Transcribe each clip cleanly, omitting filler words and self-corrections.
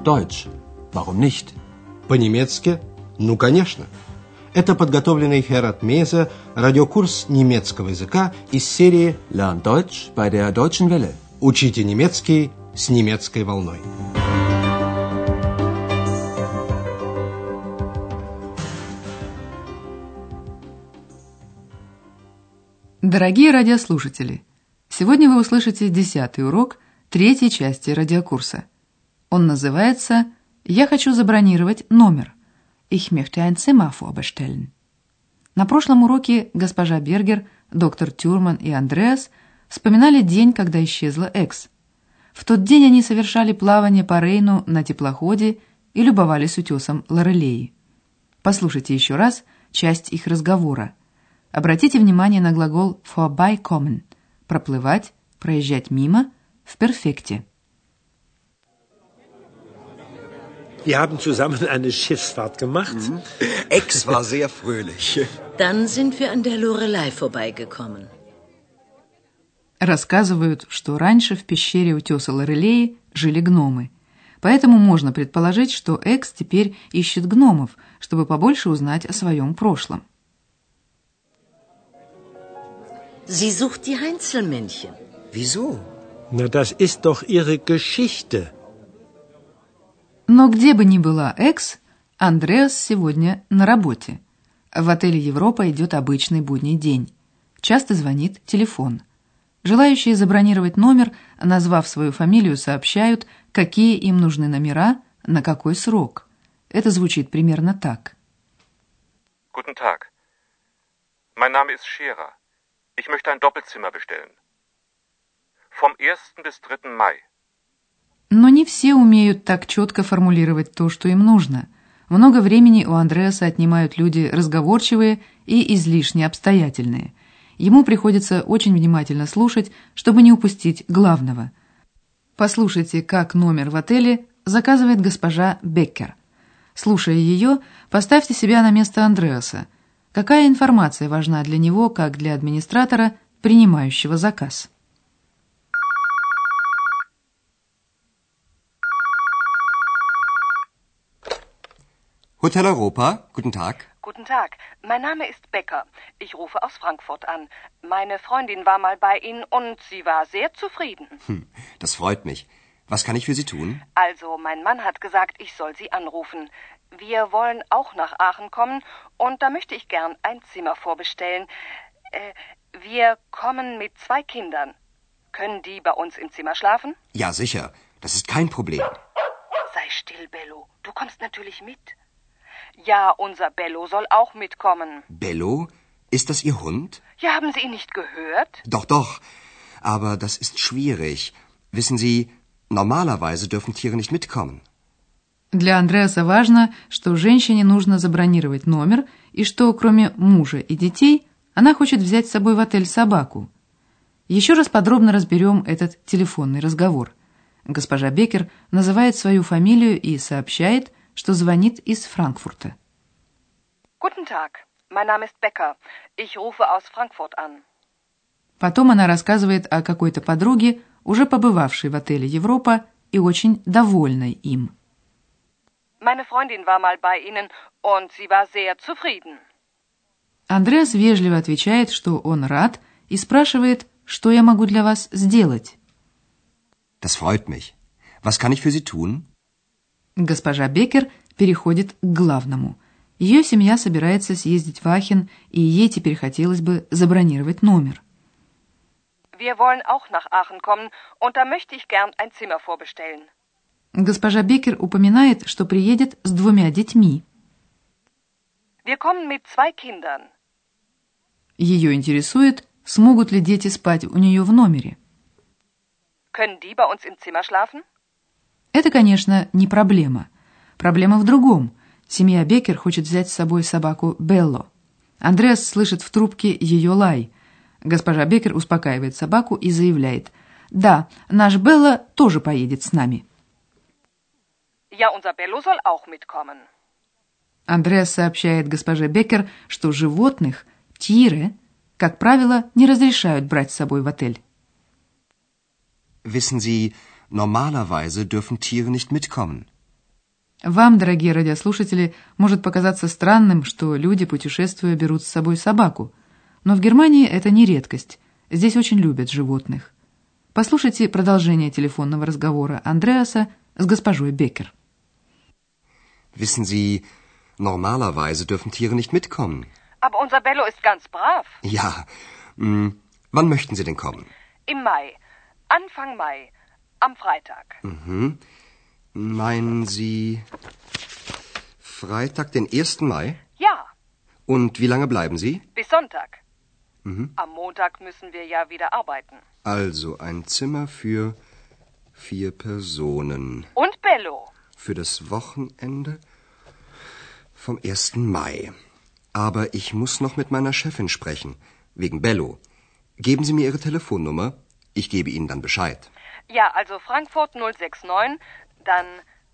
Deutsch. Warum nicht? По-немецки? Ну, конечно. Это подготовленный Херат Мейзе радиокурс немецкого языка из серии Lern Deutsch bei der Deutschen Welle. «Учите немецкий с немецкой волной». Дорогие радиослушатели, сегодня вы услышите 10-й урок 3-й части радиокурса. Он называется «Я хочу забронировать номер». Ich möchte ein Zimmer vorbestellen. На прошлом уроке госпожа Бергер, доктор Тюрман и Андреас вспоминали день, когда исчезла Экс. В тот день они совершали плавание по Рейну на теплоходе и любовались утесом Лорелеи. Послушайте еще раз часть их разговора. Обратите внимание на глагол vorbeikommen – проплывать, проезжать мимо в перфекте. Wir haben zusammen eine Schiffsfahrt gemacht. Ex war sehr fröhlich. Dann sind wir an der Lorelei vorbeigekommen. Рассказывают, что раньше в пещере утеса Лорелеи жили гномы. Поэтому можно предположить, что Экс теперь ищет гномов, чтобы побольше узнать о своем прошлом. Sie sucht die Heinzelmännchen. Wieso? Na, das ist doch ihre Geschichte. Но где бы ни была Экс, Андреас сегодня на работе. В отеле «Европа» идет обычный будний день. Часто звонит телефон. Желающие забронировать номер, назвав свою фамилию, сообщают, какие им нужны номера, на какой срок. Это звучит примерно так. Guten Tag. Mein Name ist Scherer. Ich möchte ein Doppelzimmer bestellen. Vom 1. bis 3. Mai. Но не все умеют так четко формулировать то, что им нужно. Много времени у Андреаса отнимают люди разговорчивые и излишне обстоятельные. Ему приходится очень внимательно слушать, чтобы не упустить главного. Послушайте, как номер в отеле заказывает госпожа Беккер. Слушая ее, поставьте себя на место Андреаса. Какая информация важна для него, как для администратора, принимающего заказ? Hotel Europa, guten Tag. Guten Tag, mein Name ist Becker. Ich rufe aus Frankfurt an. Meine Freundin war mal bei Ihnen und sie war sehr zufrieden. Das freut mich. Was kann ich für Sie tun? Also, mein Mann hat gesagt, ich soll Sie anrufen. Wir wollen auch nach Aachen kommen und da möchte ich gern ein Zimmer vorbestellen. Wir kommen mit 2 Kindern. Können die bei uns im Zimmer schlafen? Ja, sicher. Das ist kein Problem. Sei still, Bello. Du kommst natürlich mit. Ja, unser Bello soll auch mitkommen. Bello? Ist das Ihr Hund? Ja, haben Sie ihn nicht gehört? Doch, doch. Aber das ist schwierig. Wissen Sie, normalerweise dürfen Tiere nicht mitkommen. Для Андреаса важно, что женщине нужно забронировать номер, и что, кроме мужа и детей, она хочет взять с собой в отель собаку. Еще раз подробно разберем этот телефонный разговор. Госпожа Беккер называет свою фамилию и сообщает, что звонит из Франкфурта. Guten Tag, mein Name ist Becker. Ich rufe aus Frankfurt an. Потом она рассказывает о какой-то подруге, уже побывавшей в отеле «Европа» и очень довольной им. Meine Freundin war mal bei Ihnen und sie war sehr zufrieden. Андреас вежливо отвечает, что он рад, и спрашивает, что я могу для вас сделать. Das freut mich. Was kann ich für Sie tun? Госпожа Беккер переходит к главному. Ее семья собирается съездить в Ахен, и ей теперь хотелось бы забронировать номер. Wir wollen auch nach Aachen kommen und da möchte ich gern ein Zimmer vorbestellen. Госпожа Беккер упоминает, что приедет с 2 детьми. Wir kommen mit 2 Kindern. Ее интересует, смогут ли дети спать у нее в номере. Können die bei uns im Zimmer schlafen? Это, конечно, не проблема. Проблема в другом. Семья Беккер хочет взять с собой собаку Белло. Андреас слышит в трубке ее лай. Госпожа Беккер успокаивает собаку и заявляет: «Да, наш Белло тоже поедет с нами». Ja, unser Bello soll auch mitkommen. Андреас сообщает госпоже Беккер, что животных, тире, как правило, не разрешают брать с собой в отель. Wissen Sie, normalerweise dürfen Tiere nicht mitkommen. Вам, дорогие радиослушатели, может показаться странным, что люди, путешествуя, берут с собой собаку. Но в Германии это не редкость. Здесь очень любят животных. Послушайте продолжение телефонного разговора Андреаса с госпожой Беккер. Wissen Sie, normalerweise dürfen Tiere nicht mitkommen. Aber unser Bello ist ganz brav. Ja, wann möchten Sie denn kommen? Im Mai. Anfang Mai. Am Freitag. Mhm. Meinen Sie Freitag, den 1. Mai? Ja, Und wie lange bleiben Sie? bis Sonntag. Mhm. Am Montag müssen wir ja wieder arbeiten. Also ein Zimmer für 4 Personen. Und Bello. Für das Wochenende vom 1. Mai. Aber ich muss noch mit meiner Chefin sprechen, wegen Bello. Geben Sie mir Ihre Telefonnummer. Ich gebe Ihnen dann Bescheid. Ja, also Frankfurt 069, dann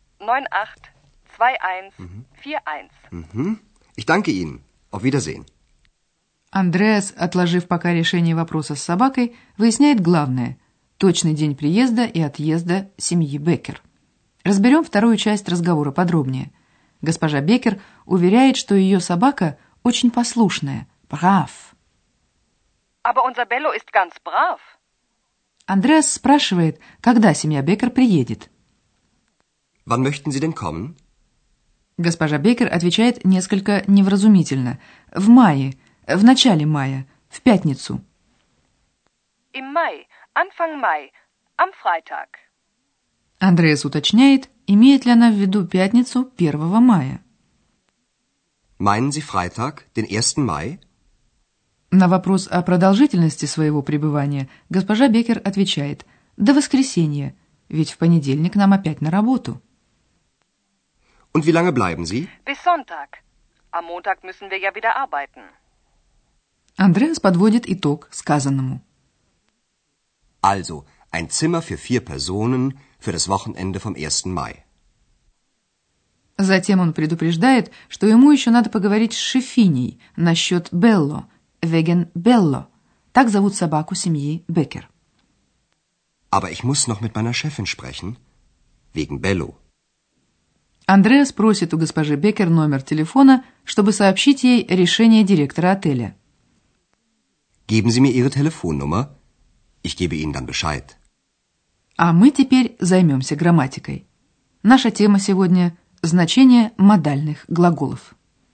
982141. Mhm. Ich danke Ihnen. Auf Wiedersehen. Андреас, отложив пока решение вопроса с собакой, выясняет главное – точный день приезда и отъезда семьи Беккер. Разберем вторую часть разговора подробнее. Госпожа Беккер уверяет, что ее собака очень послушная, brav. Aber unser Bello ist ganz brav. Андреас спрашивает, когда семья Беккер приедет. Wann möchten Sie denn kommen? Госпожа Беккер отвечает несколько невразумительно. В мае, в начале мая, в пятницу. Im Mai. Anfang Mai. Am Freitag. Андреас уточняет, имеет ли она в виду пятницу 1 мая. Meinen Sie Freitag, den 1. Mai? На вопрос о продолжительности своего пребывания госпожа Беккер отвечает «до воскресенья, ведь в понедельник нам опять на работу». Und wie lange bleiben Sie? Bis Sonntag. Am Montag müssen wir ja wieder arbeiten. Андреас подводит итог сказанному. Also, ein Zimmer für 4 Personen für das Wochenende vom 1. Mai. Затем он предупреждает, что ему еще надо поговорить с шефиней насчет Белло, wegen Bello. Так зовут собаку семьи Беккер. Aber ich muss noch mit meiner Chefin sprechen, wegen Bello. Андреас просит у госпожи Беккер номер телефона, чтобы сообщить ей решение директора отеля. Geben Sie mir Ihre Telefonnummer. Ich gebe Ihnen dann Bescheid. А мы теперь займемся грамматикой. Наша тема сегодня – значение модальных глаголов.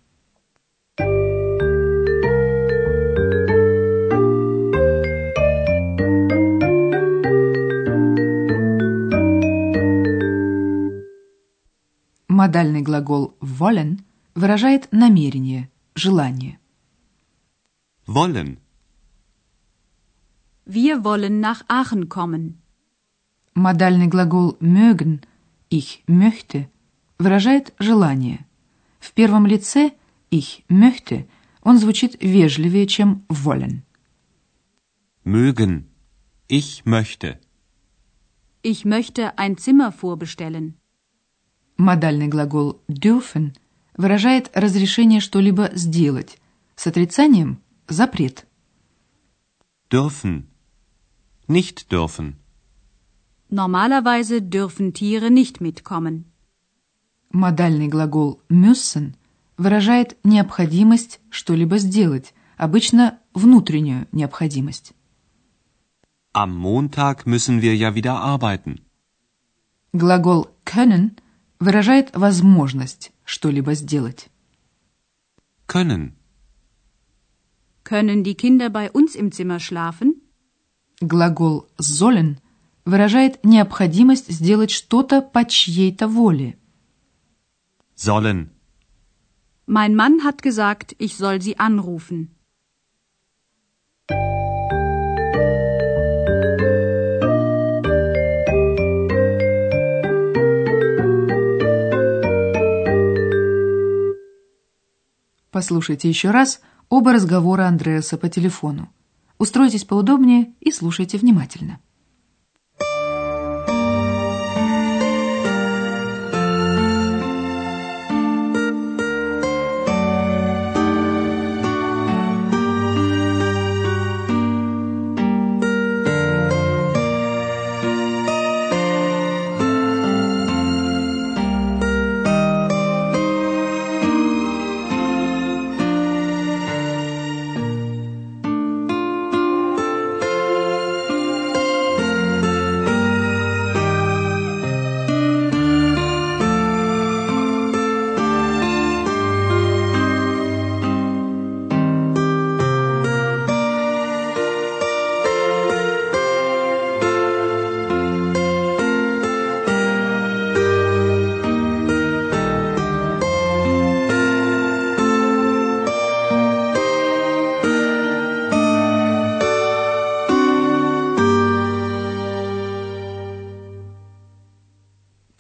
Модальный глагол wollen выражает намерение, желание. Wollen. Wir wollen nach Aachen kommen. Модальный глагол mögen, ich möchte, выражает желание. В первом лице ich möchte он звучит вежливее, чем wollen. Mögen. Ich möchte. Ich möchte ein Zimmer vorbestellen. Модальный глагол dürfen выражает разрешение что-либо сделать. С отрицанием – запрет. Dürfen. Nicht dürfen. Normalerweise dürfen Tiere nicht mitkommen. Модальный глагол müssen выражает необходимость что-либо сделать, обычно внутреннюю необходимость. Am Montag müssen wir ja wieder arbeiten. Глагол können выражает возможность что-либо сделать. Können. Können die Kinder bei uns im Zimmer schlafen? Глагол sollen выражает необходимость сделать что-то по чьей-то воле. Sollen. Mein Mann hat gesagt, ich soll sie anrufen. Послушайте еще раз оба разговора Андреаса по телефону. Устройтесь поудобнее и слушайте внимательно.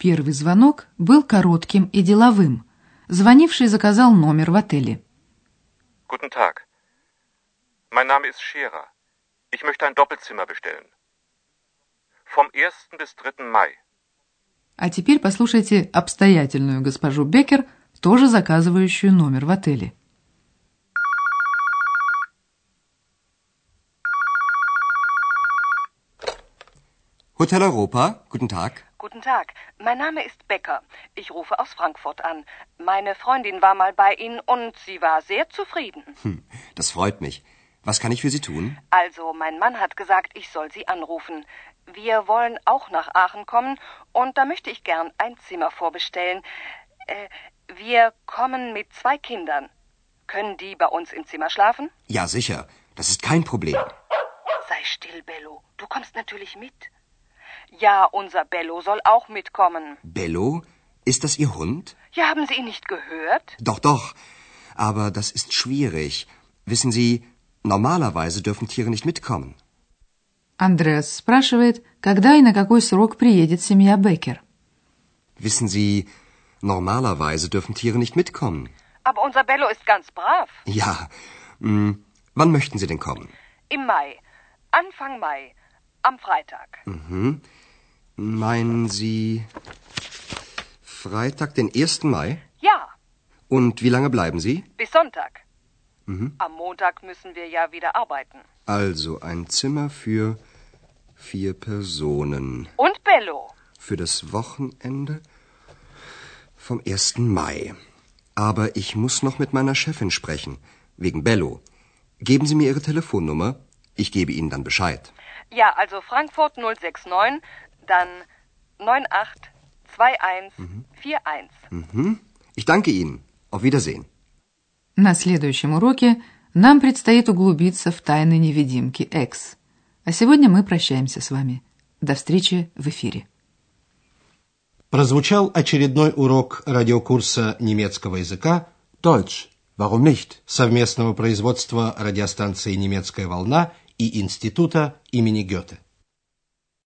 Первый звонок был коротким и деловым. Звонивший заказал номер в отеле. Guten Tag. Mein Name ist Scherer. Ich möchte ein Doppelzimmer bestellen. Vom 1. bis 3. Mai. А теперь послушайте обстоятельную госпожу Беккер, тоже заказывающую номер в отеле. Hotel Europa, guten Tag. Guten Tag, mein Name ist Becker. Ich rufe aus Frankfurt an. Meine Freundin war mal bei Ihnen und sie war sehr zufrieden. Das freut mich. Was kann ich für Sie tun? Also, mein Mann hat gesagt, ich soll Sie anrufen. Wir wollen auch nach Aachen kommen und da möchte ich gern ein Zimmer vorbestellen. Wir kommen mit 2 Kindern. Können die bei uns im Zimmer schlafen? Ja, sicher. Das ist kein Problem. Sei still, Bello. Du kommst natürlich mit. Ja, unser Bello soll auch mitkommen. Bello? Ist das Ihr Hund? Ja, haben Sie ihn nicht gehört? Doch, doch. Aber das ist schwierig. Wissen Sie, normalerweise dürfen Tiere nicht mitkommen. Андреас спрашивает, когда и на какой срок приедет семья Беккер. Wissen Sie, normalerweise dürfen Tiere nicht mitkommen. Aber unser Bello ist ganz brav. Ja. Wann möchten Sie denn kommen? Im Mai. Anfang Mai. Am Freitag. Meinen Sie Freitag, den 1. Mai? Ja, Und wie lange bleiben Sie? bis Sonntag. Am Montag müssen wir ja wieder arbeiten. Also ein Zimmer für 4 Personen. Und Bello. Für das Wochenende vom 1. Mai. Aber ich muss noch mit meiner Chefin sprechen, wegen Bello. Geben Sie mir Ihre Telefonnummer. Ich gebe Ihnen dann Bescheid. Ja, also Frankfurt 069, dann 982141. Ich danke Ihnen. Auf Wiedersehen. На следующем уроке нам предстоит углубиться в тайны невидимки X. А сегодня мы прощаемся с вами. До встречи в эфире. Прозвучал очередной урок радиокурса немецкого языка Deutsch, warum nicht? совместного производства радиостанции «Немецкая волна» и Института имени Гёте.